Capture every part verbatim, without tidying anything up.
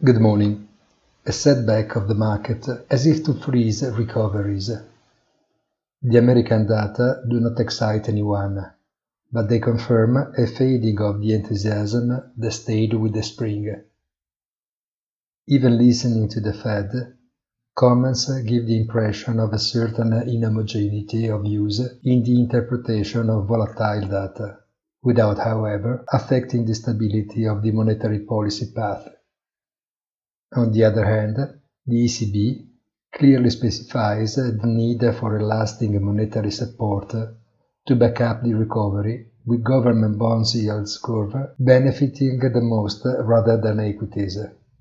Good morning. A setback of the market, as if to freeze recoveries. The American data do not excite anyone, but they confirm a fading of the enthusiasm that stayed with the spring. Even listening to the Fed, comments give the impression of a certain inhomogeneity of views in the interpretation of volatile data, without, however, affecting the stability of the monetary policy path. On the other hand, the E C B clearly specifies the need for a lasting monetary support to back up the recovery, with government bonds yields curve benefiting the most rather than equities.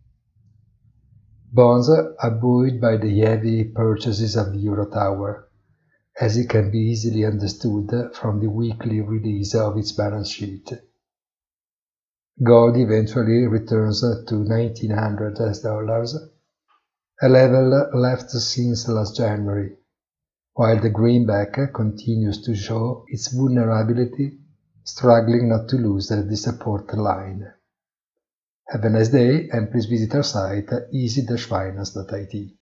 Bonds are buoyed by the heavy purchases of the Euro Tower, as it can be easily understood from the weekly release of its balance sheet. Gold eventually returns to nineteen hundred dollars, a level left since last January, while the greenback continues to show its vulnerability, struggling not to lose the support line. Have a nice day, and please visit our site easy dash finance dot I T.